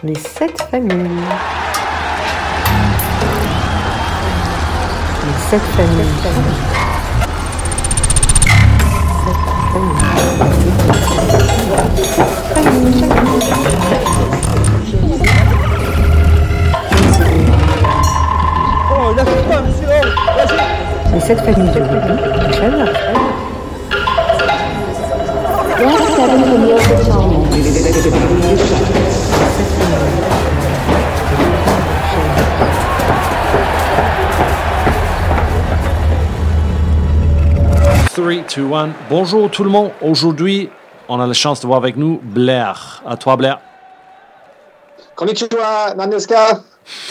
Les 7 familles. Les 7 familles. Oh, lâchez pas, monsieur. Les 7 familles de rugby. Enchaîne. Last 7 familiar personas. 3, 2, 1. Bonjour tout le monde. Aujourd'hui, on a la chance de voir avec nous Blair. À toi, Blair. Konnichiwa, nan desu ka?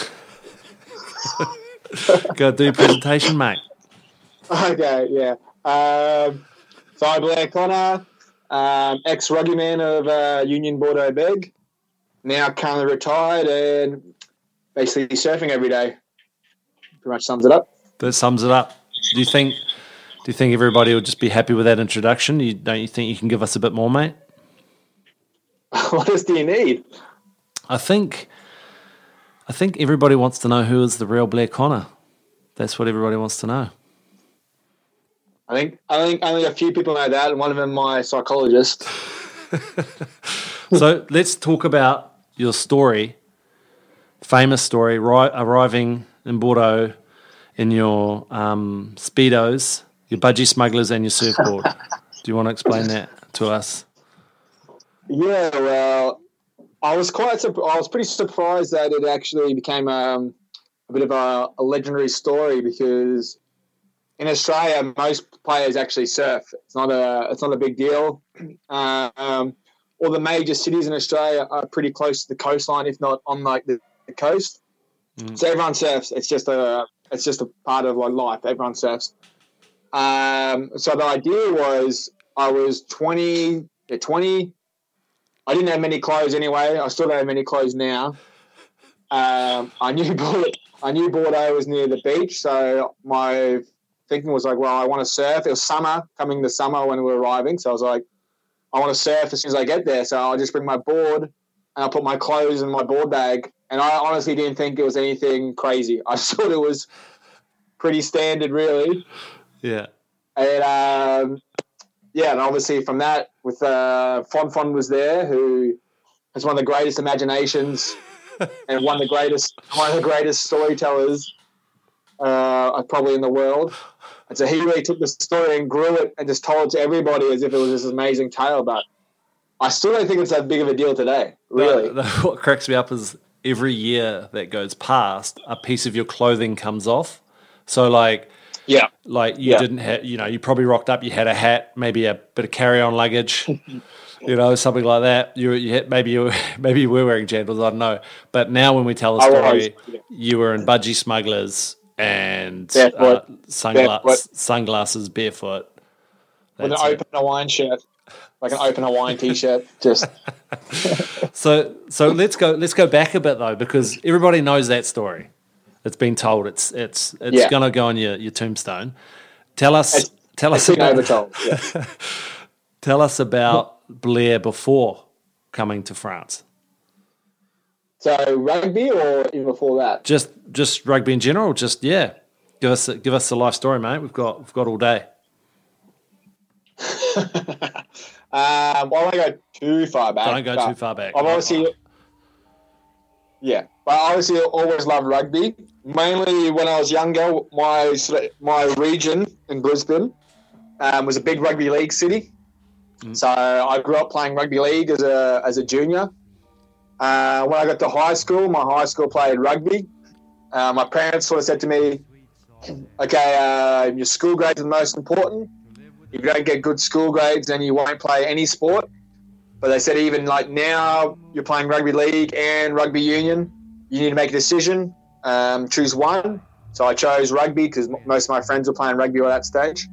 Go do your presentation, mate. Okay, yeah. So I'm Blair Connor, ex-rugby man of Union Bordeaux Beg, now currently retired and basically surfing every day. Pretty much sums it up. That sums it up. Do you think everybody will just be happy with that introduction? Don't you think you can give us a bit more, mate? What else do you need? I think everybody wants to know who is the real Blair Connor. That's what everybody wants to know. I think only a few people know that, and one of them my psychologist. So let's talk about your story, famous story, arriving in Bordeaux in your Speedos, your budgie smugglers and your surfboard. Do you want to explain that to us? Yeah, well, I was pretty surprised that it actually became a bit of a legendary story, because in Australia most players actually surf. It's not a big deal. All the major cities in Australia are pretty close to the coastline, if not on like the coast. So everyone surfs. It's just a part of like life. Everyone surfs. So the idea was, I was 20. I didn't have many clothes anyway. I still don't have many clothes now. I knew Bordeaux was near the beach, so my thinking was like, well, I want to surf. It was coming the summer when we were arriving, so I was like, I want to surf as soon as I get there. So I'll just bring my board and I'll put my clothes in my board bag. And I honestly didn't think it was anything crazy. I just thought it was pretty standard, really. Yeah. And and obviously from that, with Fon was there, who has one of the greatest imaginations and one of the greatest storytellers probably in the world. And so he really took the story and grew it and just told it to everybody as if it was this amazing tale. But I still don't think it's that big of a deal today, really. What cracks me up is every year that goes past, a piece of your clothing comes off. So didn't have, you probably rocked up, you had a hat, maybe a bit of carry-on luggage, something like that. Maybe you were wearing jandals, I don't know. But now when we tell the story, you were in budgie smugglers and sunglasses, barefoot. With an open Hawaiian shirt, like an open Hawaiian T-shirt. Just So let's go back a bit though, because everybody knows that story. It's been told. It's going to go on your tombstone. Tell us about tell us about Blair before coming to France. So rugby, or even before that? Just rugby in general. Just give us the life story, mate. We've got all day. I won't go too far back. Don't go too far back. I've obviously always loved rugby. Mainly when I was younger, my region in Brisbane was a big rugby league city. So I grew up playing rugby league as a junior. When I got to high school, my high school played rugby. My parents sort of said to me, okay, your school grades are the most important. If you don't get good school grades, then you won't play any sport. But they said even like now you're playing rugby league and rugby union, you need to make a decision, choose one. So I chose rugby because most of my friends were playing rugby at that stage.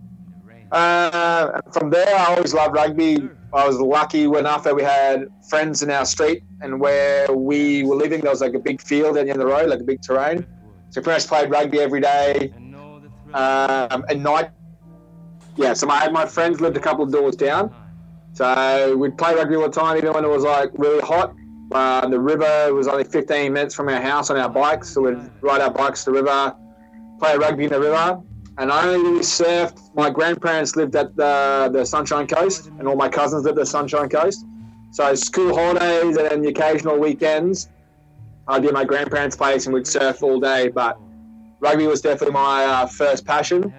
From there, I always loved rugby. I was lucky enough that we had friends in our street, and where we were living, there was like a big field at the end of the road, like a big terrain. So pretty much played rugby every day. At night, so my friends lived a couple of doors down. So we'd play rugby all the time, even when it was like really hot. The river was only 15 minutes from our house on our bikes, so we'd ride our bikes to the river, play rugby in the river. And I only really surfed. My grandparents lived at the Sunshine Coast, and all my cousins lived at the Sunshine Coast. So school holidays and then the occasional weekends, I'd be at my grandparents' place and we'd surf all day. But rugby was definitely my first passion.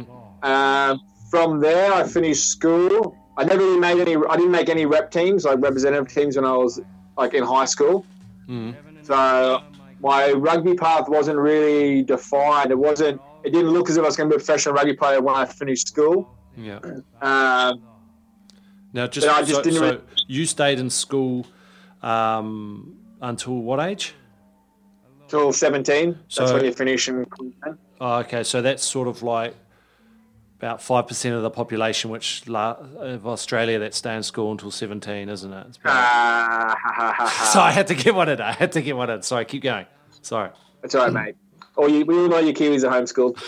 From there, I finished school. I didn't make any rep teams, like representative teams, when I was like in high school. So my rugby path wasn't really defined. It didn't look as if I was going to be a professional rugby player when I finished school. Yeah. Now, so you stayed in school until what age? Till 17. That's when you finish in Queensland. Oh, okay. So that's sort of like about 5% of the population of Australia that stay in school until 17, isn't it? So I had to get one in. Sorry, keep going. Sorry. That's all right, mate. We all know your Kiwis are homeschooled.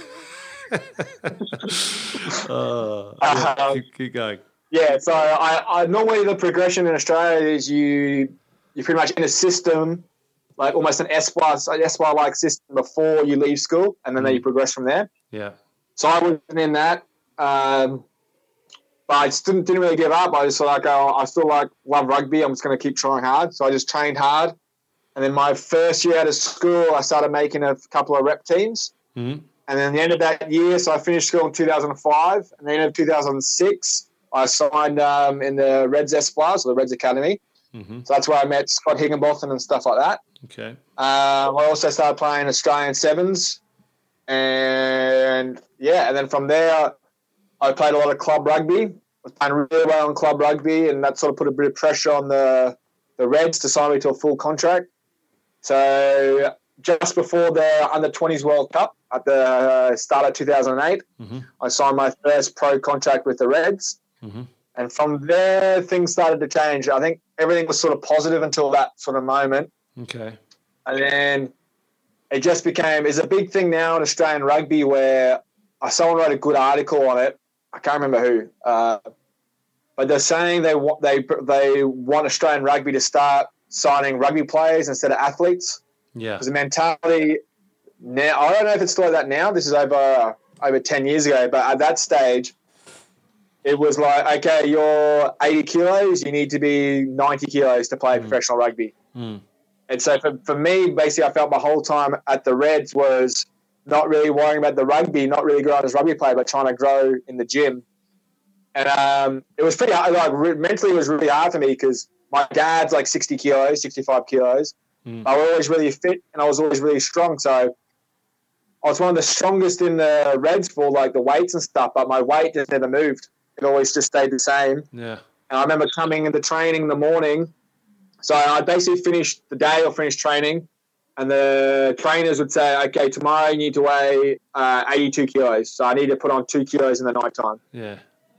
Keep going. Yeah, so I normally the progression in Australia is you're pretty much in a system, like almost an Espoir-like system before you leave school, and then you progress from there. Yeah. So I wasn't in that, but I still didn't really give up. I just thought, I still love rugby. I'm just going to keep trying hard. So I just trained hard. And then my first year out of school, I started making a couple of rep teams. And then the end of that year, so I finished school in 2005. And the end of 2006, I signed in the Reds Espoirs, or the Reds Academy. So that's where I met Scott Higginbotham and stuff like that. Okay. I also started playing Australian Sevens. And then from there, I played a lot of club rugby. I was playing really well in club rugby, and that sort of put a bit of pressure on the Reds to sign me to a full contract. So just before the Under-20s World Cup at the start of 2008, I signed my first pro contract with the Reds. And from there, things started to change. I think everything was sort of positive until that sort of moment. Okay. And then it just it's a big thing now in Australian rugby where someone wrote a good article on it. I can't remember who. But they're saying they want Australian rugby to start signing rugby players instead of athletes. Yeah. Because the mentality now, I don't know if it's still like that now. This is over 10 years ago. But at that stage, it was like, okay, you're 80 kilos. You need to be 90 kilos to play professional rugby. And so for me, basically, I felt my whole time at the Reds was not really worrying about the rugby, not really growing as a rugby player, but trying to grow in the gym. And it was pretty hard. Like, mentally, it was really hard for me because my dad's like 60 kilos, 65 kilos. I was always really fit and I was always really strong. So I was one of the strongest in the Reds for like the weights and stuff, but my weight just never moved. It always just stayed the same. Yeah. And I remember coming into training in the morning. So I basically finished the day or finished training, and the trainers would say, okay, tomorrow you need to weigh 82 kilos. So I need to put on 2 kilos in the nighttime. Yeah.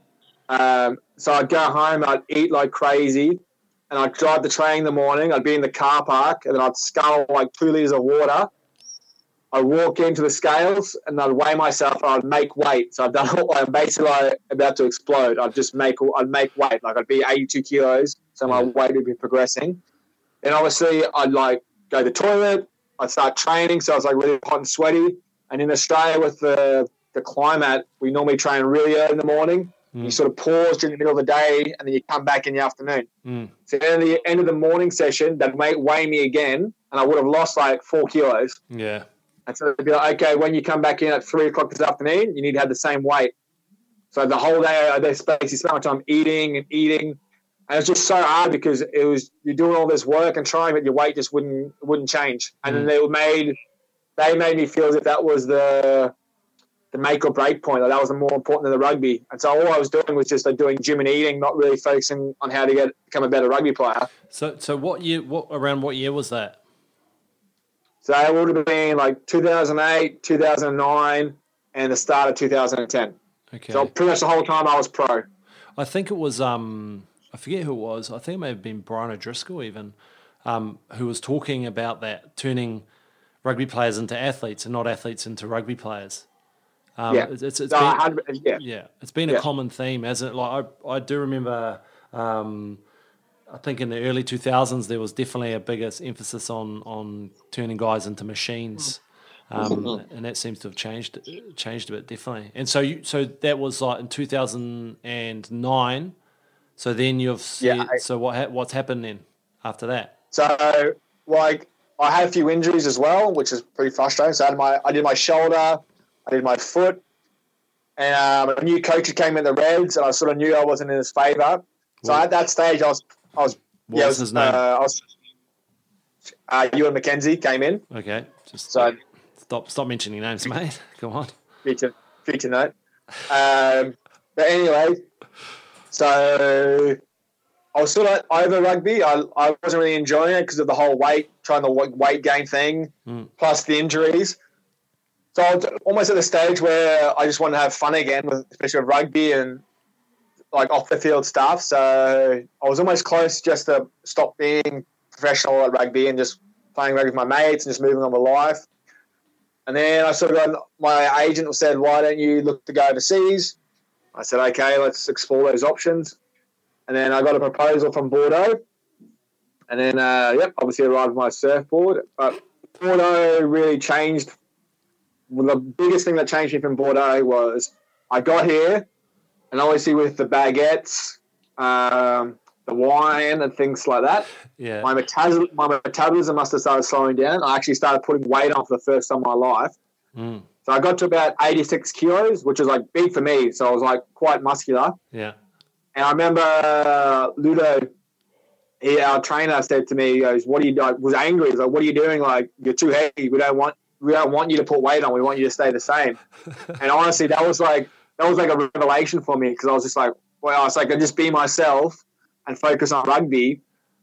So I'd go home, I'd eat like crazy, and I'd drive to training in the morning. I'd be in the car park, and then I'd scull like 2 litres of water. I'd walk into the scales, and I'd weigh myself, and I'd make weight. So I'm basically like about to explode. I'd make weight. Like I'd be 82 kilos. So my weight would be progressing. Then obviously I'd like go to the toilet. I'd start training. So I was like really hot and sweaty. And in Australia with the climate, we normally train really early in the morning. You sort of pause during the middle of the day and then you come back in the afternoon. So then at the end of the morning session, they'd weigh me again and I would have lost like 4 kilos. Yeah. And so they'd be like, okay, when you come back in at 3 o'clock this afternoon, you need to have the same weight. So the whole day, they basically spent my time eating. And it's just so hard because you're doing all this work and trying, but your weight just wouldn't change. And then they made me feel as if that was the make or break point. Like that was more important than the rugby. And so all I was doing was just like doing gym and eating, not really focusing on how to become a better rugby player. So around what year was that? So it would have been like 2008, 2009, and the start of 2010. Okay. So pretty much the whole time I was pro. I think it was I forget who it was. I think it may have been Brian O'Driscoll even, who was talking about that, turning rugby players into athletes and not athletes into rugby players. It's been a common theme, hasn't it? Like I do remember I think in the early 2000s there was definitely a bigger emphasis on turning guys into machines, and that seems to have changed a bit, definitely. And so that was like in 2009. So then you've so what's happened then after that? So like I had a few injuries as well, which is pretty frustrating. So I did my shoulder, I did my foot, and a new coach who came in the Reds, and I sort of knew I wasn't in his favour. So at that stage, I was. What was his name? Ewan McKenzie came in. Okay, just so stop mentioning names, mate. Come on. Future note. But anyway, so I was sort of over rugby. I wasn't really enjoying it because of the whole weight gain thing, plus the injuries. So I was almost at the stage where I just wanted to have fun again, especially with rugby and like off the field stuff. So I was almost close just to stop being professional at rugby and just playing rugby with my mates and just moving on with life. And then I sort of got, my agent said, why don't you look to go overseas? I said, okay, let's explore those options. And then I got a proposal from Bordeaux. And then, obviously arrived with my surfboard. But Bordeaux really changed. Well, the biggest thing that changed me from Bordeaux was I got here, and obviously with the baguettes, the wine and things like that, my metabolism must have started slowing down. I actually started putting weight on for the first time in my life. So I got to about 86 kilos, which was like big for me. So I was like quite muscular. Yeah. And I remember Ludo, our trainer, said to me, he goes, "What are you doing?" Was angry. He's like, "What are you doing? Like, you're too heavy. We don't want you to put weight on. We want you to stay the same." And honestly, that was like a revelation for me, because I was just like, well, it's like I just be myself and focus on rugby.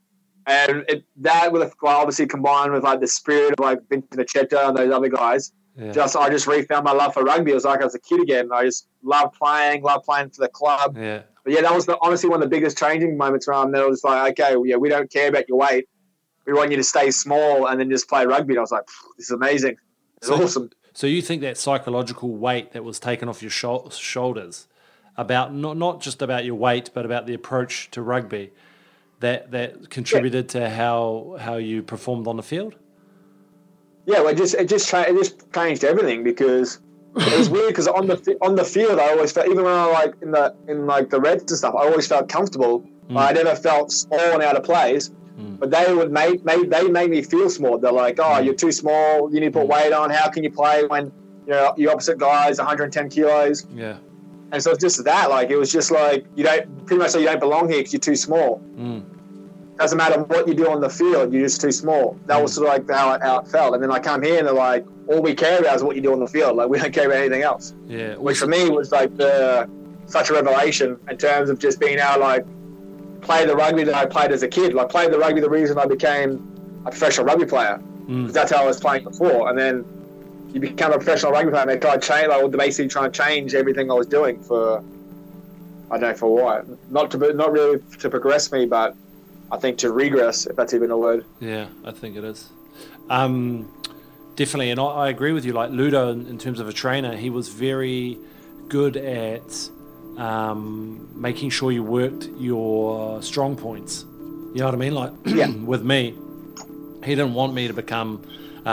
And that would have obviously combined with like the spirit of like Vincent Acheta and those other guys. Yeah. I just refound my love for rugby. It was like I was a kid again. I just loved playing for the club. Yeah. But yeah, that was honestly one of the biggest changing moments around there. It was like, okay, well, yeah, we don't care about your weight. We want you to stay small and then just play rugby. And I was like, this is amazing. It's awesome. So you think that psychological weight that was taken off your shoulders, about not just about your weight, but about the approach to rugby, that contributed to how you performed on the field? Yeah, well, it just changed everything, because it was weird, because on the field I always felt, even when I like in the Reds and stuff, I always felt comfortable. I never felt small and out of place. But they would make me feel small. They're like, "Oh, you're too small. You need to put weight on. How can you play when your opposite guy's 110 kilos?" Yeah. And so it's just that. Like, it was just like you don't belong here because you're too small. Doesn't matter what you do on the field, you're just too small. That was sort of like how it felt. And then I come here and they're like, all we care about is what you do on the field. Like, we don't care about anything else. Yeah. Which for me was like such a revelation in terms of just being able to like play the rugby that I played as a kid. Like, played the rugby the reason I became a professional rugby player. Because that's how I was playing before. And then you become a professional rugby player and they try to change, like, basically trying to change everything I was doing for, I don't know for what. Not really to progress me, but I think to regress, if that's even a word. Yeah, I think it is. Definitely, and I agree with you. Like Ludo, in terms of a trainer, he was very good at making sure you worked your strong points. You know what I mean? Like with me, he didn't want me to become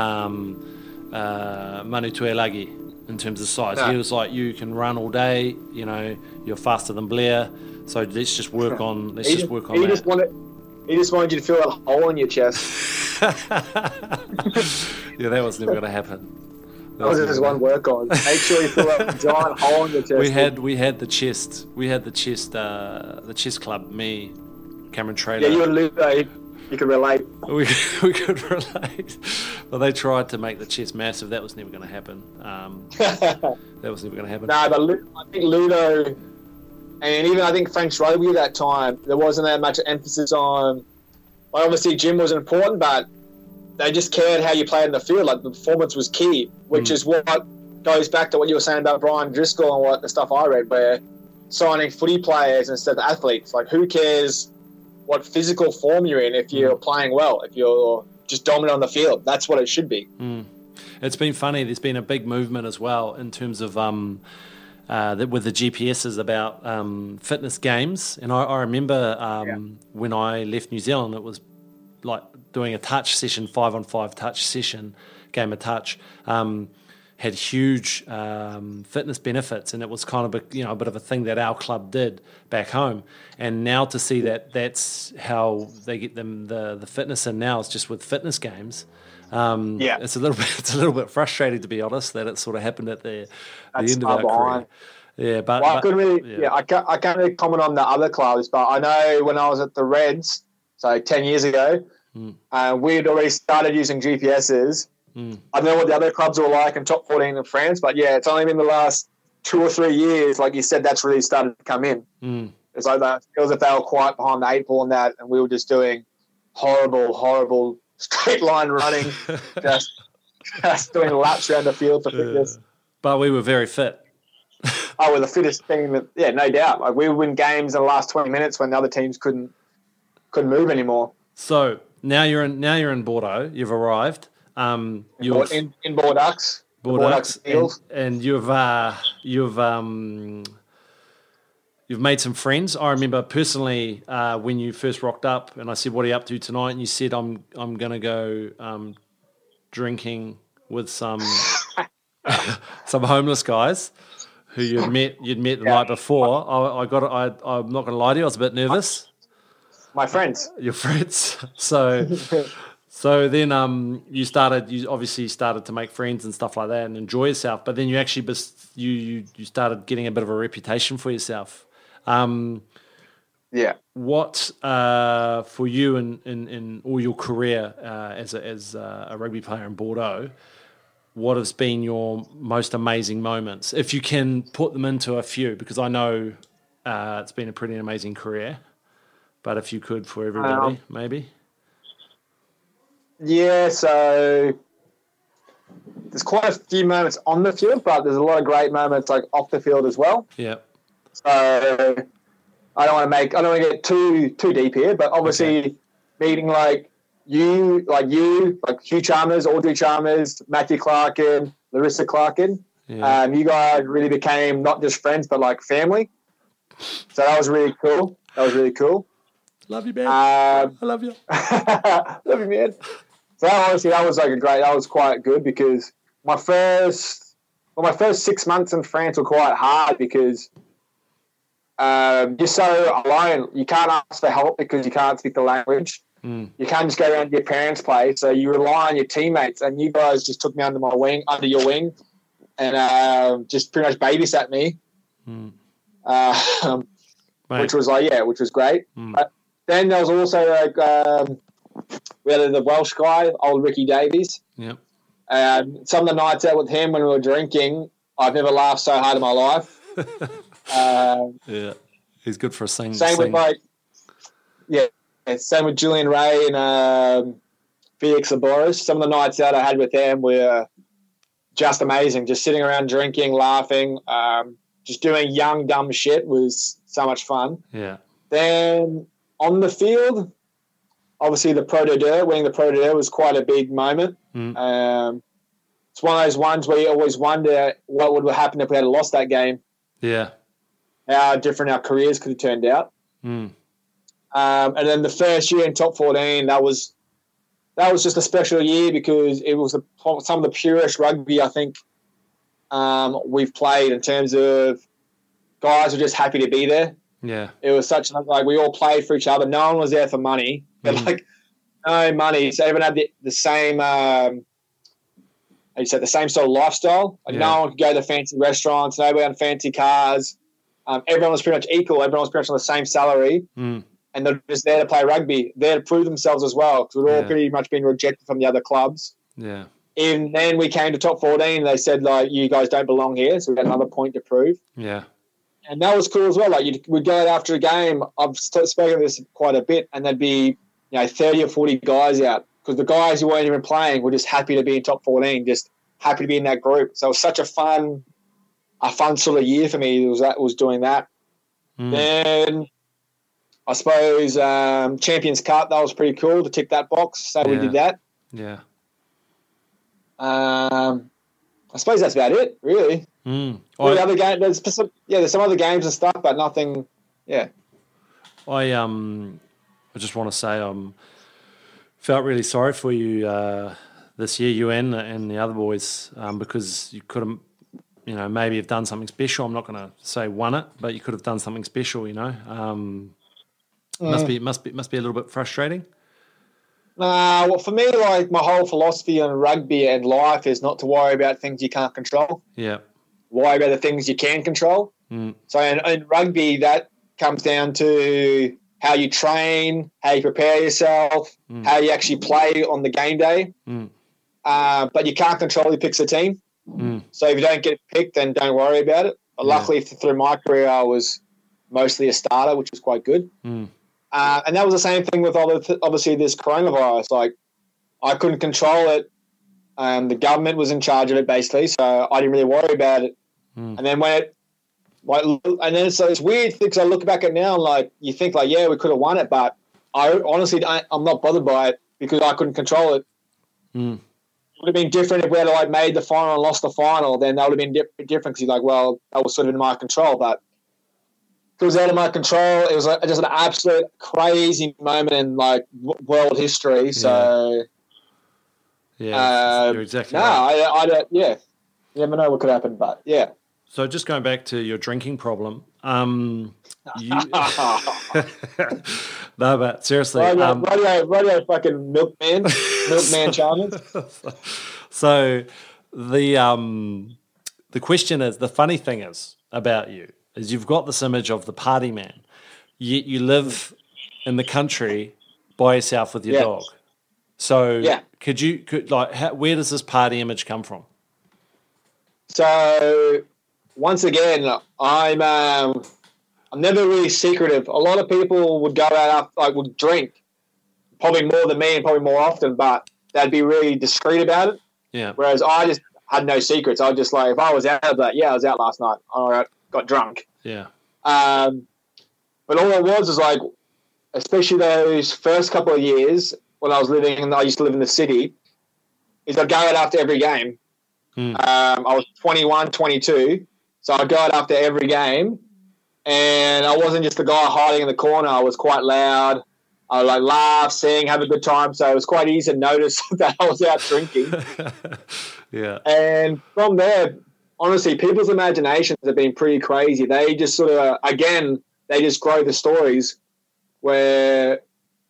Manu Tuilagi in terms of size. No. He was like, you can run all day, you're faster than Blair, so let's just work on that. He just wanted you to feel a hole in your chest. Yeah, that was never going to happen. That was just one work on. Make sure you feel a giant hole in your chest. We had the chest. We had the chest club. Me, Cameron Traylor. Yeah, you and Luke. You could relate. We could relate. Well, they tried to make the chest massive. That was never going to happen. That was never going to happen. No, but I think Ludo, and even I think French rugby at that time, there wasn't that much emphasis on. Like, obviously, gym was important, but they just cared how you played in the field. Like, the performance was key, which is what goes back to what you were saying about Brian Driscoll and what the stuff I read, where signing footy players instead of athletes. Like, who cares what physical form you're in if you're playing well, if you're just dominant on the field? That's what it should be. It's been funny. There's been a big movement as well in terms of with the GPSs about fitness games. And I remember when I left New Zealand, it was like doing a touch session, 5-on-5 touch session, game of touch, had huge fitness benefits, and it was kind of a bit of a thing that our club did back home. And now to see that that's how they get them the fitness in now, is just with fitness games. It's a little bit frustrating, to be honest, that it sort of happened at the end of our career. Yeah, but I can't really comment on the other clubs, but I know when I was at the Reds, so 10 years ago, we'd already started using GPSs. I don't know what the other clubs were like in top 14 in France, but yeah, it's only been the last 2 or 3 years, like you said, that's really started to come in. It's like that, it feels like they were quite behind the 8 ball on that, and we were just doing horrible straight line running, just doing laps around the field for fitness. But we were very fit. We're the fittest team. Yeah, no doubt. Like, we would win games in the last 20 minutes when the other teams couldn't move anymore. So now you're in Bordeaux. You've arrived. In Bordeaux. And you've made some friends. I remember personally when you first rocked up, and I said, "What are you up to tonight?" And you said, "I'm going to go drinking with some some homeless guys who you'd met the night before." I'm not going to lie to you, I was a bit nervous. My friends, your friends. So then you obviously started to make friends and stuff like that and enjoy yourself. But then you actually you started getting a bit of a reputation for yourself. What for you in all your career as a rugby player in Bordeaux, what has been your most amazing moments? If you can put them into a few, because I know it's been a pretty amazing career. But if you could for everybody, maybe. Yeah, so there's quite a few moments on the field, but there's a lot of great moments like off the field as well. Yeah. So I don't want to get too deep here, but obviously meeting like Hugh Chalmers, Audrey Chalmers, Matthew Clarkin, Larissa Clarkin. Yeah. You guys really became not just friends, but like family. So that was really cool. Love you, man. I love you. Love you, man. So honestly, that was quite good, because my first 6 months in France were quite hard because you're so alone. You can't ask for help because you can't speak the language. You can't just go around to your parents' place, so you rely on your teammates. And you guys just took me under your wing, and just pretty much babysat me, which was great. Then there was also we had the Welsh guy, old Ricky Davies. Yep. Some of the nights out with him when we were drinking, I've never laughed so hard in my life. Yeah, he's good for a sing. Same with Julian Ray and Felix Laboris. Some of the nights out I had with them were just amazing. Just sitting around drinking, laughing, just doing young, dumb shit was so much fun. Yeah. Then on the field, obviously winning the Pro de Deux was quite a big moment. It's one of those ones where you always wonder what would have happened if we had lost that game. Yeah. How different our careers could have turned out. And then the first year in top 14, that was just a special year because it was some of the purest rugby I think we've played, in terms of guys were just happy to be there. Yeah, it was such like we all played for each other. No one was there for money, but no money. So everyone had the same, the same sort of lifestyle. Like no one could go to fancy restaurants. Nobody had fancy cars. Everyone was pretty much equal. Everyone was pretty much on the same salary, and they're just there to play rugby, there to prove themselves as well. Because we'd all pretty much been rejected from the other clubs. Yeah. And then we came to top 14. They said like, you guys don't belong here, so we had another point to prove. Yeah. And that was cool as well. Like we'd go out after a game. I've spoken of this quite a bit, and there'd be 30 or 40 guys out, because the guys who weren't even playing were just happy to be in top 14, just happy to be in that group. So it was such a fun sort of year for me. Was doing that. Then I suppose Champions Cup, that was pretty cool to tick that box. So we did that. Yeah. I suppose that's about it, really. The other game, there's some other games and stuff, but nothing. Yeah. I just want to say felt really sorry for you this year, you and the other boys, because you could have, maybe have done something special. I'm not going to say won it, but you could have done something special. Must be a little bit frustrating. Well, for me, like my whole philosophy on rugby and life is not to worry about things you can't control. Yeah. Worry about the things you can control. So in rugby, that comes down to how you train, how you prepare yourself, how you actually play on the game day. But you can't control who picks the team. So if you don't get picked, then don't worry about it. But luckily, through my career, I was mostly a starter, which was quite good. And that was the same thing with obviously this coronavirus. Like, I couldn't control it. The government was in charge of it, basically, so I didn't really worry about it. And then so it's weird because I look back at it now and like you think like, yeah, we could have won it, but I honestly I'm not bothered by it because I couldn't control it. It would have been different if we had like made the final and lost the final. Then that would have been different because you're like, well, that was sort of in my control, but it was out of my control. It was just an absolute crazy moment in like world history. So you're exactly right. I don't. Yeah, you never know what could happen, but yeah. So just going back to your drinking problem, no, but seriously, radio fucking milkman Chalmers. So the question is, the funny thing is about you is you've got this image of the party man, yet you live in the country by yourself with your dog. So where does this party image come from? So once again, I'm never really secretive. A lot of people would go out would drink, probably more than me and probably more often, but they'd be really discreet about it. Yeah. Whereas I just had no secrets. I was just like, if I was out, I was out last night. All right, got drunk. Yeah. But all it was like, especially those first couple of years when I used to live in the city, is I'd go out after every game. I was 21, 22. So I'd go out after every game, and I wasn't just the guy hiding in the corner. I was quite loud. I would laugh, sing, have a good time. So it was quite easy to notice that I was out drinking. Yeah. And from there, honestly, people's imaginations have been pretty crazy. They just sort of, they just grow the stories where,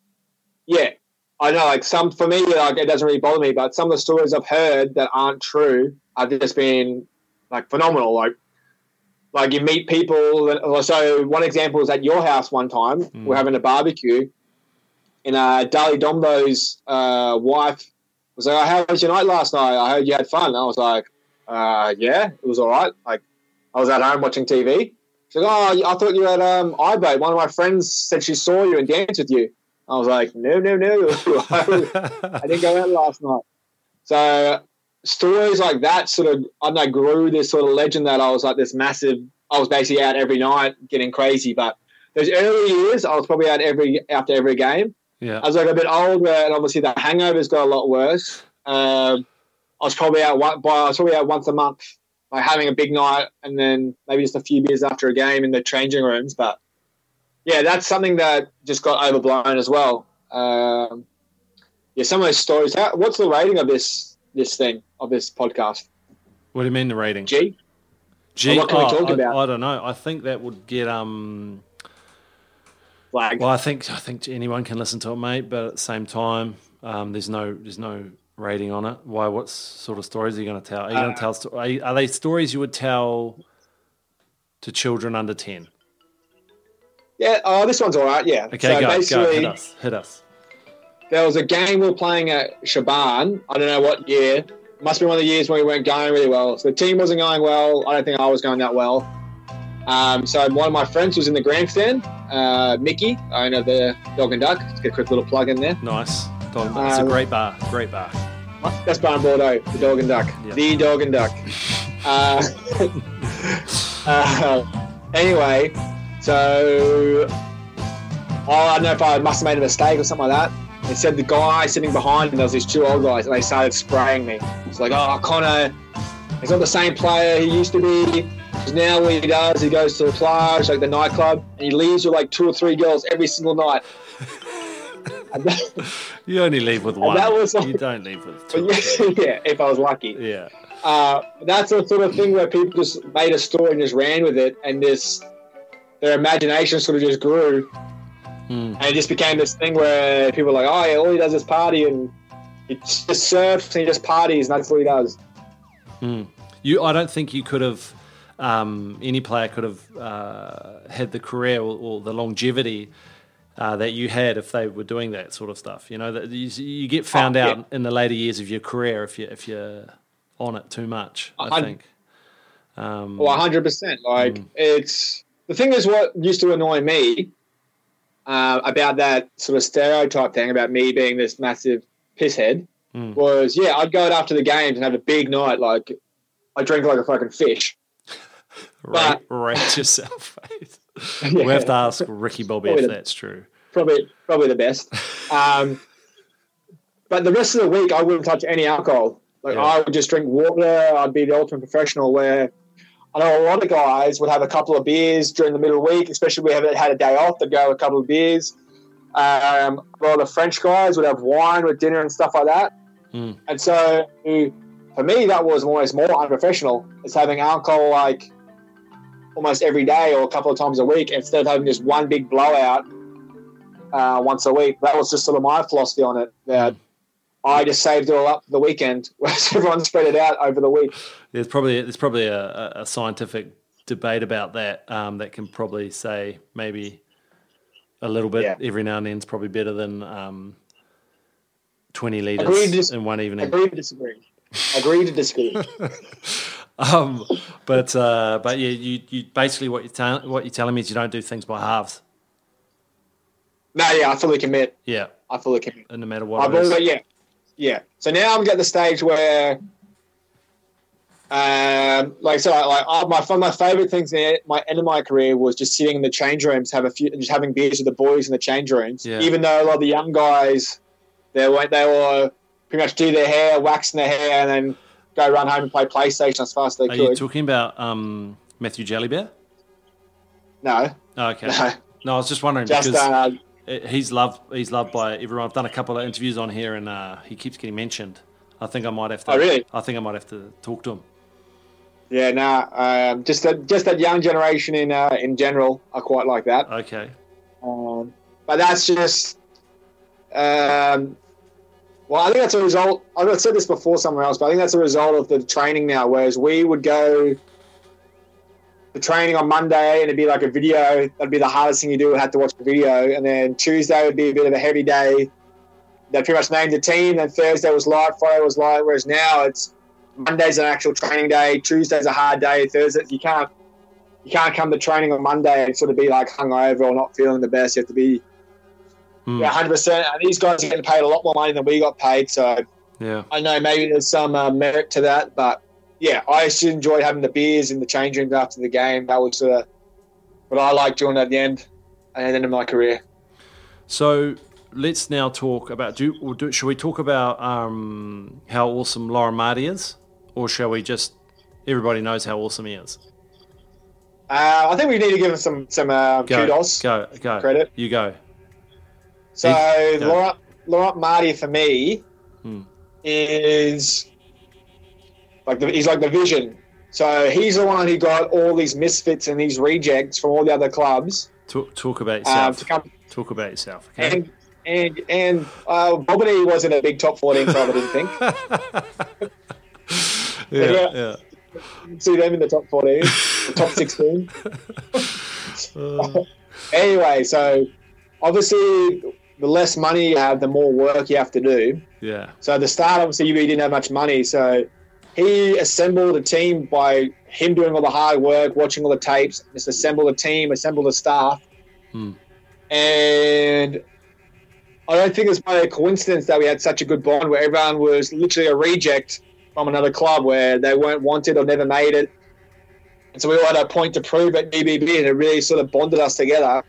I know, for me, it doesn't really bother me, but some of the stories I've heard that aren't true have just been, phenomenal. Like you meet people. So one example was at your house one time. We're having a barbecue, and Dali Dombo's wife was like, "How was your night last night? I heard you had fun." And I was like, "Yeah, it was all right." Like I was at home watching TV. She's like, "Oh, I thought you had iBoat. One of my friends said she saw you and danced with you." I was like, "No, I didn't go out last night." So stories like that sort of, grew this sort of legend that I was like this massive, I was basically out every night getting crazy. But those early years, I was probably out after every game. Yeah. I was a bit older, and obviously the hangovers got a lot worse. I was probably out once a month, having a big night and then maybe just a few beers after a game in the changing rooms. But yeah, that's something that just got overblown as well. Some of those stories. What's the rating of this podcast? What do you mean the rating? G. What can we talk about? I don't know. I think that would get flag. Well, I think anyone can listen to it, mate. But at the same time, there's no rating on it. Why? What sort of stories are you going to tell? Are you going to tell? Are they stories you would tell to children under 10? Yeah. Oh, this one's all right. Yeah. Okay, go. Hit us. There was a game we were playing at Shaban. I don't know what year. Must be one of the years when we weren't going really well. So the team wasn't going well. I don't think I was going that well. So one of my friends was in the grandstand, Mickey, owner of the Dog and Duck. Let's get a quick little plug in there. Nice. It's a great bar. Best bar in Bordeaux, the Dog and Duck. Yep. The Dog and Duck. Anyway, so I don't know if I must have made a mistake or something like that. They said the guy sitting behind me, there was these two old guys, and they started spraying me. It's like, "Oh, Connor, He's not the same player he used to be. Now what he does, he goes to the plage, like the nightclub, and he leaves with like 2 or 3 girls every single night. You only leave with one. You don't leave with 2. Yeah, if I was lucky. Yeah. That's the sort of thing where people just made a story and just ran with it, and their imagination sort of just grew. And it just became this thing where people were like, oh, yeah, all he does is party, and he just surfs and he just parties, and that's what he does. I don't think you could have, any player could have had the career or the longevity that you had if they were doing that sort of stuff. You know, that you get found out in the later years of your career if you're on it too much, I think. 100%. Like, it's the thing is what used to annoy me about that sort of stereotype thing about me being this massive pisshead was, I'd go out after the games and have a big night. Like, I drink like a fucking fish. Rate yourself, mate. We have to ask Ricky Bobby if that's true. Probably the best. But the rest of the week, I wouldn't touch any alcohol. Like, I would just drink water. I'd be the ultimate professional where I know a lot of guys would have a couple of beers during the middle of the week, especially if we had a day off, they'd go a couple of beers. A lot of French guys would have wine with dinner and stuff like that. And so for me, that was almost more unprofessional. It's having alcohol like almost every day or a couple of times a week instead of having just one big blowout once a week. That was just sort of my philosophy on it, that I just saved it all up for the weekend, whereas everyone spread it out over the week. There's probably a scientific debate about that that can probably say maybe a little bit every now and then is probably better than 20 litres in one evening. Agree to disagree. But yeah, you basically what you're telling me is you don't do things by halves. No, I fully commit. Yeah, I fully commit. And no matter what it is. Yeah. So now I'm at the stage where, my favorite things in my end of my career was just sitting in the change rooms, just having beers with the boys in the change rooms. Yeah. Even though a lot of the young guys, they were pretty much do their hair, waxing their hair, and then go run home and play PlayStation as fast as they could. Are you talking about Matthew Jellybear? No. Oh, okay. No, I was just wondering because he's loved by everyone. I've done a couple of interviews on here, and he keeps getting mentioned. I think I might have to. Oh, really? I think I might have to talk to him. Yeah, just that young generation in general, I quite like that. Okay. But that's just. Well, I think that's a result. I've said this before somewhere else, but I think that's a result of the training now. Whereas we would go the training on Monday and it'd be like a video. That'd be the hardest thing you do. Would have to watch the video, and then Tuesday would be a bit of a heavy day. They pretty much named the team. Then Thursday was light, Friday was light. Whereas now it's Monday's an actual training day. Tuesday's a hard day. Thursday you can't come to training on Monday and sort of be like hungover or not feeling the best. You have to be. 100%. And these guys are getting paid a lot more money than we got paid. So I know maybe there's some merit to that. But, I just enjoyed having the beers in the change rooms after the game. That was what I liked doing at the end of my career. So let's now talk about should we talk about how awesome Lauren Marty is? Or shall we just everybody knows how awesome he is? I think we need to give him some kudos. Go. Credit. You go. So Laurent Marty for me is he's like the vision. So he's the one who got all these misfits and these rejects from all the other clubs. Talk about yourself. Talk about yourself. Okay. And Bobby wasn't a big top 14 club, I didn't think. Yeah. See them in the top 14, the top 16. Anyway, so obviously the less money you have, the more work you have to do. Yeah. So at the start, obviously, UB didn't have much money. So he assembled a team by him doing all the hard work, watching all the tapes, just assembled a team, assembled a staff. And I don't think it's by a coincidence that we had such a good bond where everyone was literally a reject from another club where they weren't wanted or never made it. And so we all had a point to prove at DBB, and it really sort of bonded us together.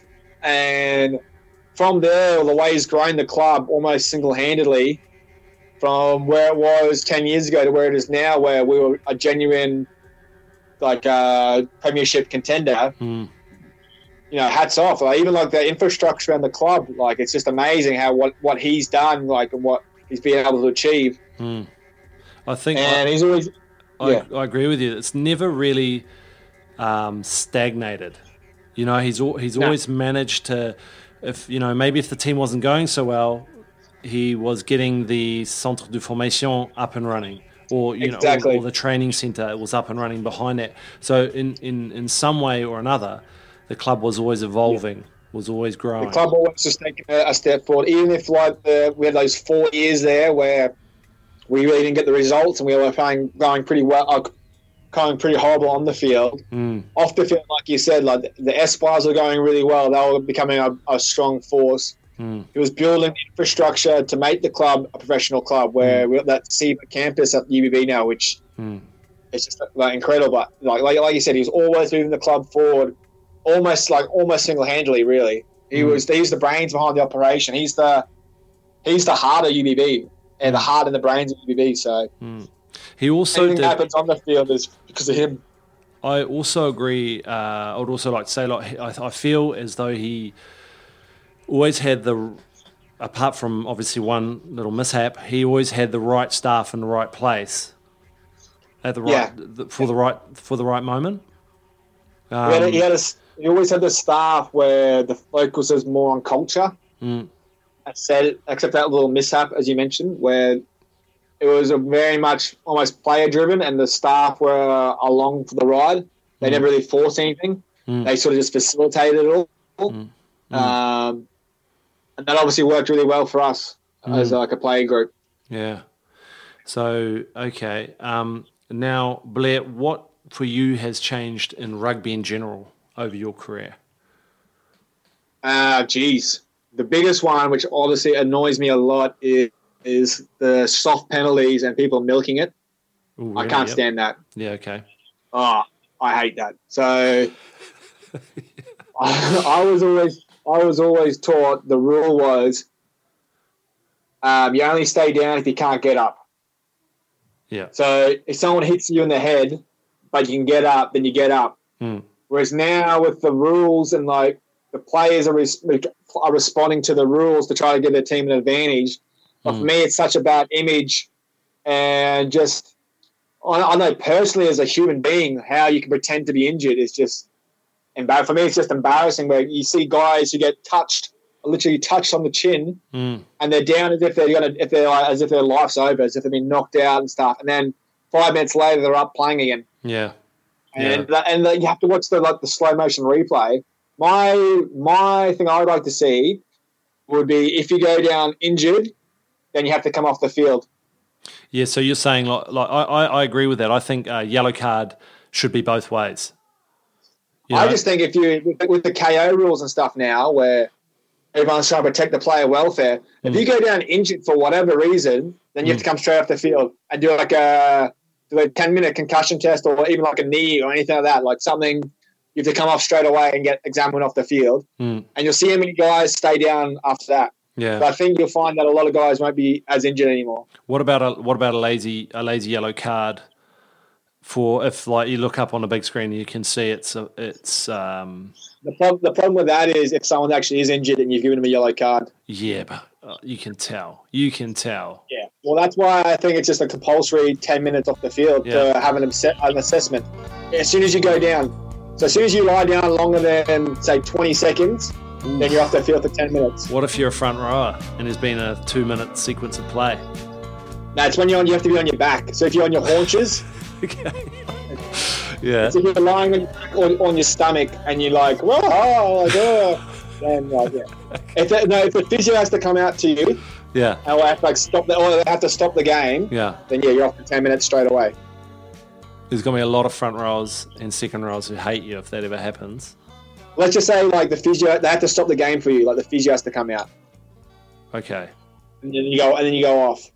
And from there, the way he's grown the club almost single-handedly, from where it was 10 years ago to where it is now, where we were a genuine premiership contender. Hats off. Like, even like the infrastructure around the club, like it's just amazing how what he's done, like, and what he's been able to achieve. I think, and he's always. I agree with you. It's never really stagnated. He's always managed to, maybe if the team wasn't going so well, he was getting the centre de formation up and running, or or the training centre was up and running behind it. So in some way or another, the club was always evolving, was always growing. The club always just taking a step forward, even if we had those 4 years there where we really didn't get the results and we were going pretty well, going pretty horrible on the field. Off the field, like you said, like the Espoirs were going really well. They were becoming a strong force. He was building the infrastructure to make the club a professional club, where we got that CEPA campus at UBB now, which is just like incredible. But like you said, he was always moving the club forward, almost single-handedly. Really, he's the brains behind the operation. He's the heart of UBB and the heart and the brains of UBB. So he also anything that happens on the field is because of him. I also agree. I would also like to say, I feel as though he always had apart from obviously one little mishap, he always had the right staff in the right place at the right for the right moment. He always had the staff where the focus is more on culture. Except that little mishap, as you mentioned, where it was a very much almost player driven, and the staff were along for the ride. They never really forced anything. They sort of just facilitated it all. And that obviously worked really well for us as like a player group. Yeah. So, okay. Now, Blair, what for you has changed in rugby in general over your career? The biggest one, which obviously annoys me a lot, is the soft penalties and people milking it. Ooh, really? I can't stand that. Yeah, okay. Oh, I hate that. So I was always taught the rule was you only stay down if you can't get up. Yeah. So if someone hits you in the head, but you can get up, then you get up. Whereas now with the rules and like the players are responding to the rules to try to give their team an advantage. But for me, it's such a bad image, and just I know personally as a human being how you can pretend to be injured is just embarrassing. For me, it's just embarrassing where you see guys who get literally touched on the chin, and they're down as if as if their life's over, as if they've been knocked out and stuff, and then 5 minutes later they're up playing again. Yeah, and you have to watch the slow motion replay. My thing I would like to see would be if you go down injured, then you have to come off the field. Yeah, so you're saying I agree with that. I think yellow card should be both ways. I just think if you with the KO rules and stuff now, where everyone's trying to protect the player welfare, if you go down injured for whatever reason, then you have to come straight off the field and do like a 10-minute concussion test, or even like a knee or anything like that, like something. You have to come off straight away and get examined off the field, and you'll see how many guys stay down after that. Yeah, but I think you'll find that a lot of guys won't be as injured anymore. What about a lazy yellow card? For if like you look up on the big screen, you can see it's. The problem with that is if someone actually is injured and you've given them a yellow card. Yeah, but you can tell. You can tell. Yeah, well, that's why I think it's just a compulsory 10 minutes off the field to have an assessment. As soon as you go down. So as soon as you lie down longer than, say, 20 seconds, then you're off the field for 10 minutes. What if you're a front rower and there's been a 2-minute sequence of play? No, it's when you have to be on your back. So if you're on your haunches... Okay. Yeah. So if you're lying on your back or on your stomach and you're like, whoa, then if the physio has to come out to you, or they have to stop the game, then you're off for 10 minutes straight away. There's going to be a lot of front rowers and second rowers who hate you if that ever happens. Let's just say, like, the physio, they have to stop the game for you. Like, the physio has to come out. Okay. And then you go off.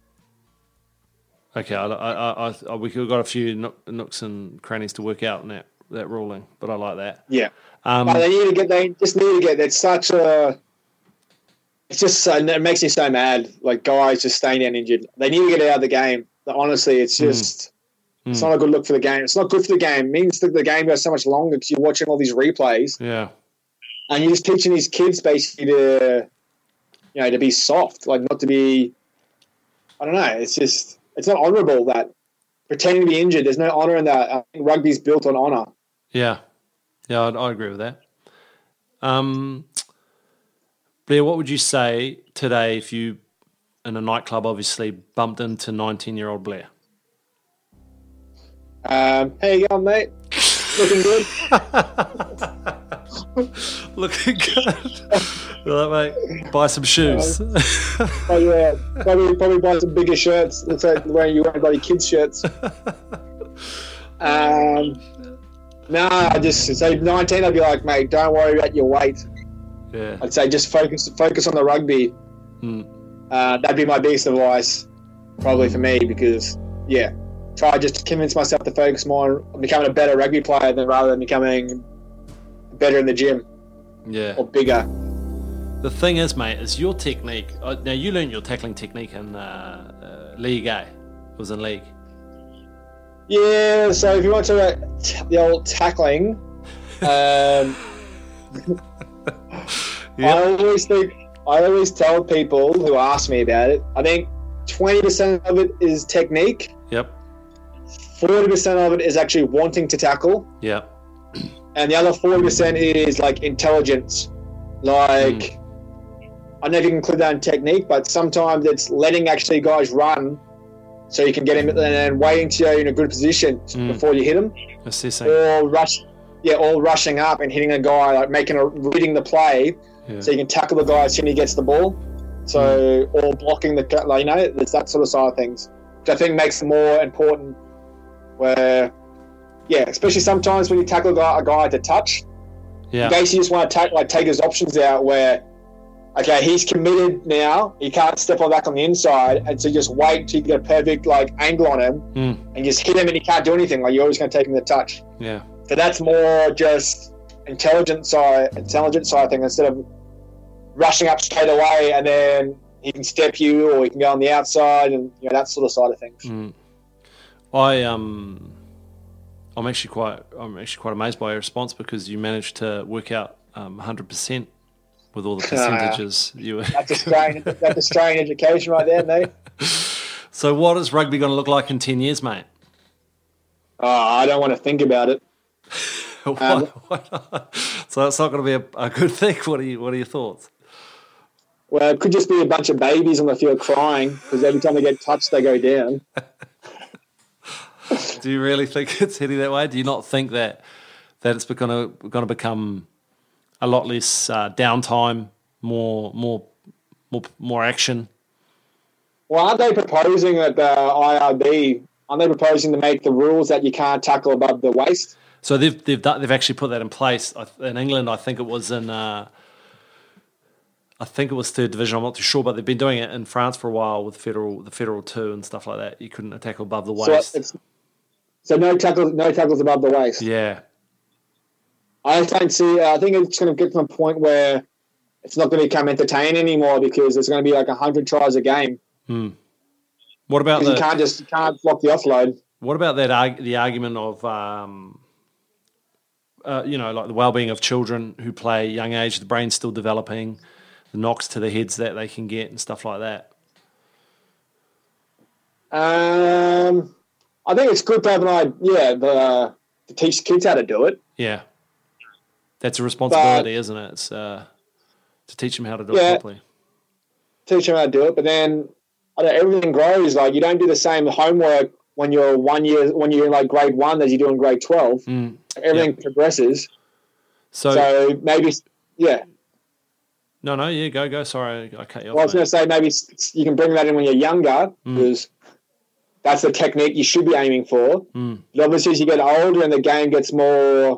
Okay, we've got a few nooks and crannies to work out in that ruling, but I like that. Yeah. But they just need to get. It's such a. it's just it makes me so mad. Like guys just staying down injured. They need to get out of the game. But honestly, it's just it's not a good look for the game. It's not good for the game. It means that the game goes so much longer because you're watching all these replays. Yeah, and you're just teaching these kids basically to be soft, like not to be. I don't know. It's not honourable that pretending to be injured. There's no honour in that. I think rugby's built on honour. Yeah, I agree with that. Blair, what would you say today if you, in a nightclub, obviously bumped into 19-year-old Blair? How you going, mate? Looking good. Looking good. Well, mate, buy some shoes. Yeah, probably buy some bigger shirts. Looks like wearing bloody kids' shirts. I just say 19. I'd be like, mate, don't worry about your weight. Yeah. I'd say just focus on the rugby. That'd be my biggest advice, probably for me, because try just to convince myself to focus more on becoming a better rugby player rather than becoming better in the gym. Yeah. Or bigger. The thing is, mate, is your technique. Now, you learned your tackling technique in League A. It was in League. Yeah, so if you want to talk about the old tackling, I always tell people who ask me about it, I think 20% of it is technique. Yep. 40% of it is actually wanting to tackle. Yep. And the other 40% is like intelligence. Like, I don't know if you can include that in technique, but sometimes it's letting actually guys run so you can get him and then waiting till you're in a good position before you hit him. Assessing. Or rushing up and hitting a guy, like reading the play so you can tackle the guy as soon as he gets the ball. So, or blocking there's that sort of side of things, which I think makes it more important where, especially sometimes when you tackle a guy to touch, in case you just want to take his options out where, okay, he's committed now, he can't step on back on the inside, and so just wait till you get a perfect angle on him and just hit him and he can't do anything, you're always going to take him to touch. Yeah. So that's more just intelligent side thing, instead of rushing up straight away and then he can step you or he can go on the outside and that sort of side of things. I'm actually quite amazed by your response, because you managed to work out 100% with all the percentages. That's Australian education right there, mate. So what is rugby going to look like in 10 years, mate? I don't want to think about it. Why not? So it's not going to be a good thing. What are your thoughts? Well, it could just be a bunch of babies on the field crying because every time they get touched, they go down. Do you really think it's heading that way? Do you not think that it's going to become a lot less downtime, more action? Well, aren't they proposing at the IRB? Aren't they proposing to make the rules that you can't tackle above the waist? So they've actually put that in place in England. I think it was in third division. I'm not too sure, but they've been doing it in France for a while with the federal 2 and stuff like that. You couldn't tackle above the waist. So no tackles above the waist. Yeah. I don't see. I think it's going to get to a point where it's not going to become entertaining anymore because it's going to be 100 tries a game. What about you can't block the offload? What about the argument of the well-being of children who play young age, the brain's still developing, the knocks to the heads that they can get and stuff like that? I think it's good to have an idea, to teach kids how to do it. Yeah. That's a responsibility, isn't it? It's to teach them how to do it properly. Teach them how to do it, but then everything grows. You don't do the same homework when you're in grade 1 as you do in grade 12. Everything progresses. So maybe, No, go. Sorry, I cut you off. Well, I was going to say maybe you can bring that in when you're younger because that's the technique you should be aiming for. But obviously, as you get older and the game gets more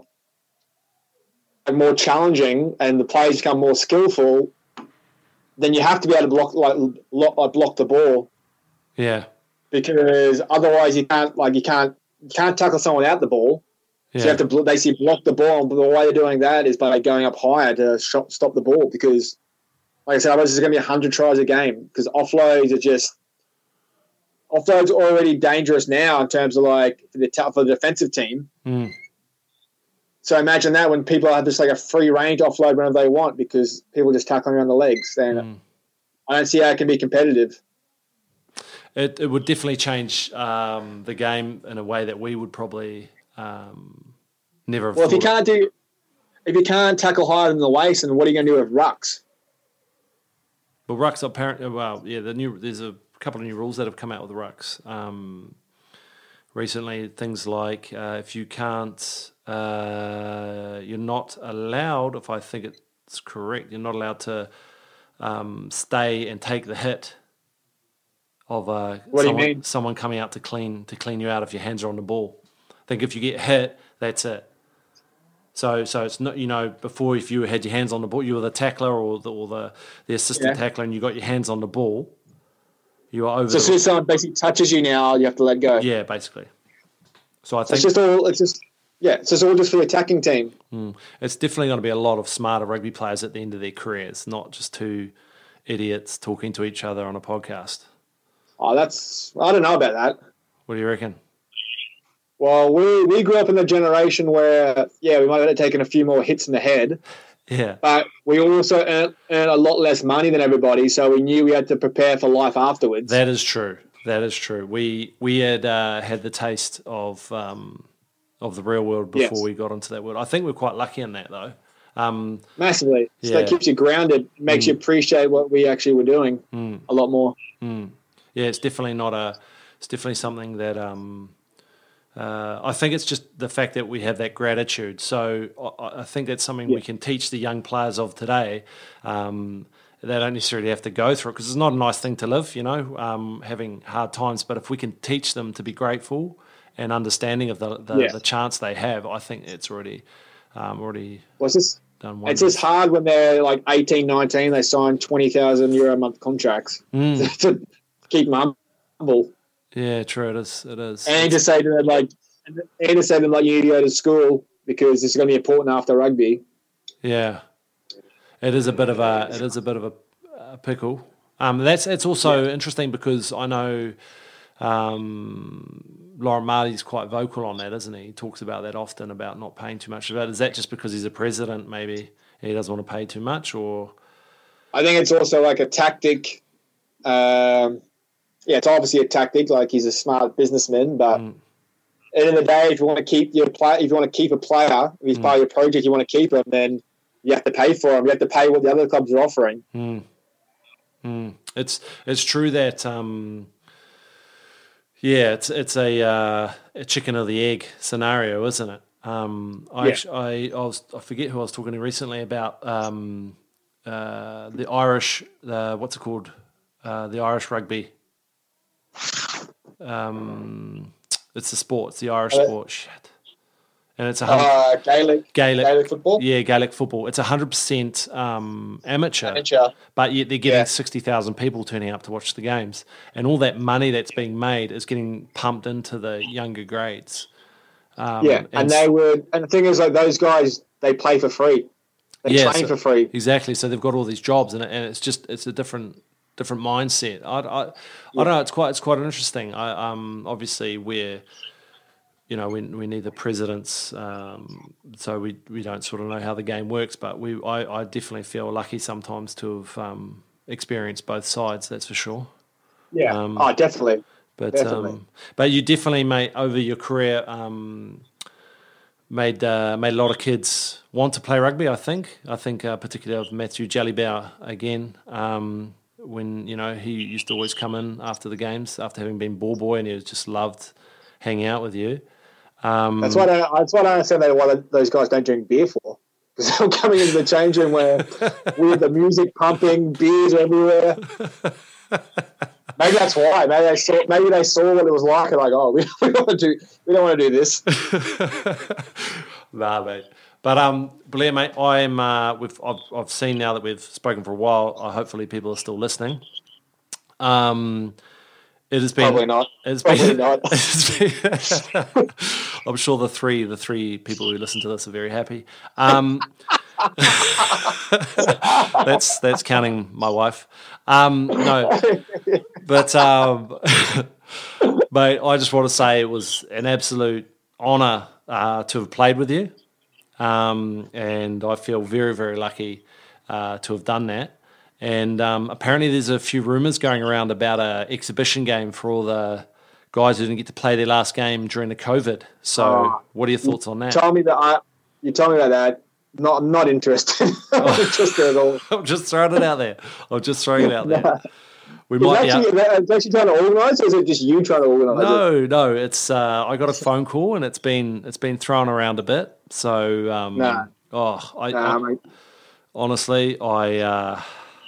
challenging and the players become more skillful, then you have to be able to block the ball. Yeah. Because otherwise you can't tackle someone without the ball. Yeah. So you have to basically block the ball, and the way they're doing that is by going up higher to stop the ball because like I said, otherwise there's going to be 100 tries a game because offloads are already dangerous now in terms of like for the defensive team. Mm. So imagine that when people have just like a free range offload whenever they want because people just tackling around the legs. Then I don't see how it can be competitive. It would definitely change the game in a way that we would probably never have. Well, if you can't tackle higher than the waist, then what are you going to do with rucks? Well, rucks apparently. Well, yeah, there's a couple of new rules that have come out with the rucks recently. Things like if you can't, you're not allowed. If I think it's correct, you're not allowed to stay and take the hit of someone coming out to clean you out if your hands are on the ball. I think if you get hit, that's it. So it's not, before if you had your hands on the ball, you were the tackler or the assistant tackler, and you got your hands on the ball, you are over. So as soon as someone basically touches you now, you have to let go. Yeah, basically. So I think it's just all just for the attacking team. It's definitely going to be a lot of smarter rugby players at the end of their careers, not just two idiots talking to each other on a podcast. Oh, I don't know about that. What do you reckon? Well, we grew up in the generation where, we might have taken a few more hits in the head. Yeah. But we also earned a lot less money than everybody, so we knew we had to prepare for life afterwards. That is true. We had had the taste of the real world before we got into that world. I think we're quite lucky in that, though. Massively. So that keeps you grounded, makes you appreciate what we actually were doing a lot more. Yeah, it's definitely something that I think it's just the fact that we have that gratitude. So I think that's something we can teach the young players of today. They don't necessarily have to go through it because it's not a nice thing to live, having hard times. But if we can teach them to be grateful and understanding of the chance they have, I think it's already done wonders. It's just hard when they're like 18, 19, they sign €20,000 a month contracts to keep them humble. Yeah, true. It is. And to say to them like, you need to go to school because this is going to be important after rugby. Yeah, it is a bit of a pickle. It's also interesting because I know Lauren Marty's quite vocal on that, isn't he? He talks about that often about not paying too much. Is that just because he's a president? Maybe he doesn't want to pay too much, or I think it's also like a tactic. It's obviously a tactic. Like he's a smart businessman, but at the end of the day, if you want to keep a player, if he's part of your project, you want to keep him, then you have to pay for him. You have to pay what the other clubs are offering. It's true that it's a chicken or the egg scenario, isn't it? I forget who I was talking to recently about the Irish. What's it called? The Irish rugby. It's the sport. It's the Irish sport. Shit. And it's Gaelic football. Yeah, Gaelic football. It's 100% amateur, but yet they're getting 60,000 people turning up to watch the games, and all that money that's being made is getting pumped into the younger grades. And the thing is, like those guys, they play for free. They train for free. Exactly. So they've got all these jobs, and it's a different mindset. I don't know. It's quite interesting. Obviously we're. We need the presidents, so we don't sort of know how the game works. But I definitely feel lucky sometimes to have experienced both sides. That's for sure. Yeah. Definitely. But you definitely made over your career made a lot of kids want to play rugby. I think particularly of Matthew Jellybauer again. When he used to always come in after the games after having been ball boy, and he just loved hanging out with you. That's why I don't understand why those guys don't drink beer for. Because they're coming into the change room with the music pumping, beers everywhere. Maybe that's why. Maybe they saw what it was like and like, oh, we don't want to do this. Nah, mate. But Blair, mate, I've seen now that we've spoken for a while. Hopefully, people are still listening. It has been probably not. I'm sure the three people who listen to this are very happy. That's counting my wife. No, but mate, I just want to say it was an absolute honour to have played with you, and I feel very, very lucky to have done that. And apparently there's a few rumours going around about an exhibition game for all the guys who didn't get to play their last game during the COVID. So what are your thoughts on that? You told me about that. Not interested. Not interested at all. I'm just throwing it out there. We might it's actually trying to organise, or is it just you trying to organise it? No. It's I got a phone call and it's been thrown around a bit. So mate. Honestly, I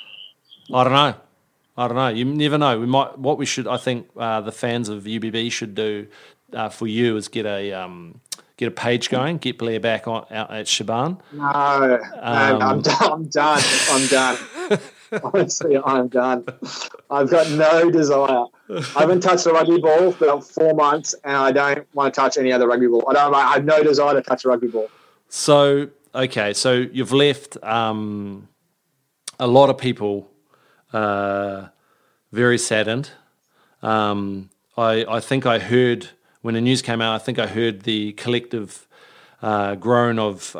don't know. You never know. I think the fans of UBB should do for you is get a page going, get Blair back out at Shaban. No, I'm done. Honestly, I'm done. I've got no desire. I haven't touched a rugby ball for about 4 months, and I don't want to touch any other rugby ball. I have no desire to touch a rugby ball. So you've left a lot of people very saddened. I think I heard when the news came out, I think I heard the collective groan of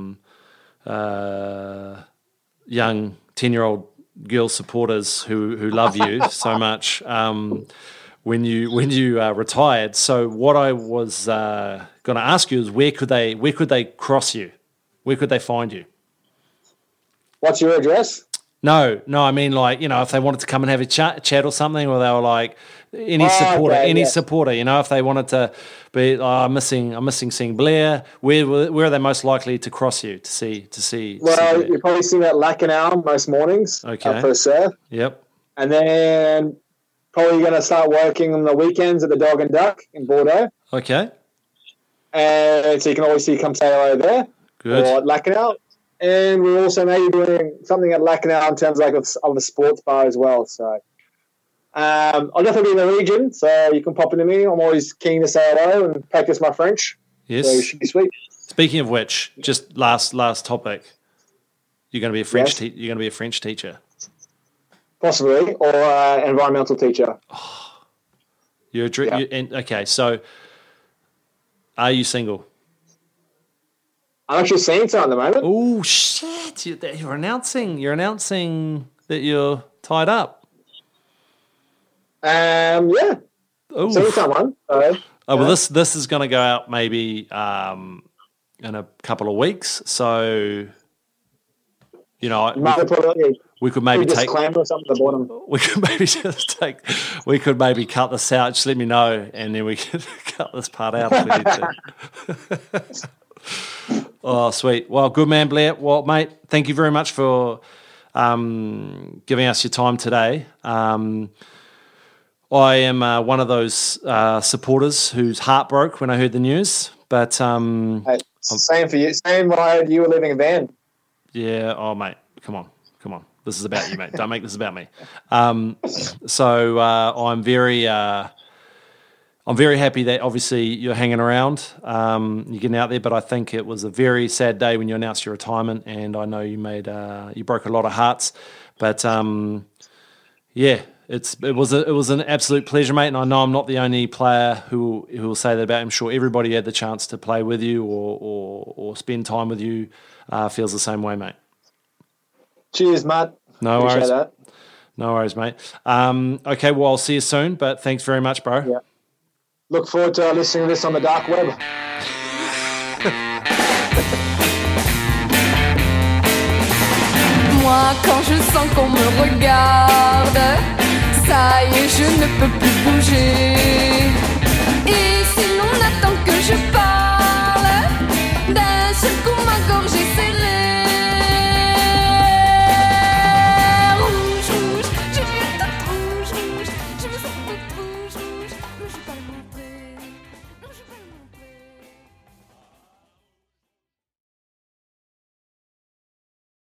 young 10-year-old girl supporters who love you so much when you retired. So what I was going to ask you is where could they cross you? Where could they find you? What's your address? No, I mean, like, you know, if they wanted to come and have a chat or something, or they were like any supporter, you know, if they wanted to be, I'm missing seeing Blair. Where are they most likely to cross you to see? Well, you're probably seeing at Lacanau most mornings. Okay. For a surf. Yep. And then probably going to start working on the weekends at the Dog and Duck in Bordeaux. Okay. And so you can always come say hello there. Good. Or at Lacanau. And we're also maybe doing something at Lacanau in terms of a sports bar as well. So I'll definitely be in the region, so you can pop into me. I'm always keen to say hello and practice my French. Yes. So it should be sweet. Speaking of which, just last topic, you're going to be a French you're going to be a French teacher. Possibly, or an environmental teacher. Oh, okay, so are you single? I'm actually seeing someone at the moment. Oh shit! You're announcing that you're tied up. Yeah. Ooh. Seeing someone. Well, this is going to go out maybe in a couple of weeks. So, you know, we could maybe take disclaimer or something at the bottom. We could maybe cut this out. Just let me know, and then we can cut this part out if we need to. Oh, sweet. Well, good man, Blair. Well, mate, thank you very much for giving us your time today. I am one of those supporters whose heart broke when I heard the news. But same for you. Same when I heard you were leaving a van. Yeah. Oh, mate, come on. This is about you, mate. Don't make this about me. So I'm very happy that obviously you're hanging around, you're getting out there. But I think it was a very sad day when you announced your retirement, and I know you you broke a lot of hearts. But yeah. It was an absolute pleasure, mate, and I know I'm not the only player who will say that about him. I'm sure everybody who had the chance to play with you or spend time with you feels the same way, mate. Cheers, Matt. No worries. That. No worries, mate. Okay, well, I'll see you soon, but thanks very much, bro. Yeah. Look forward to listening to this on the dark web. Moi, quand je sens qu'on me regarde, ça y est, je ne peux plus bouger.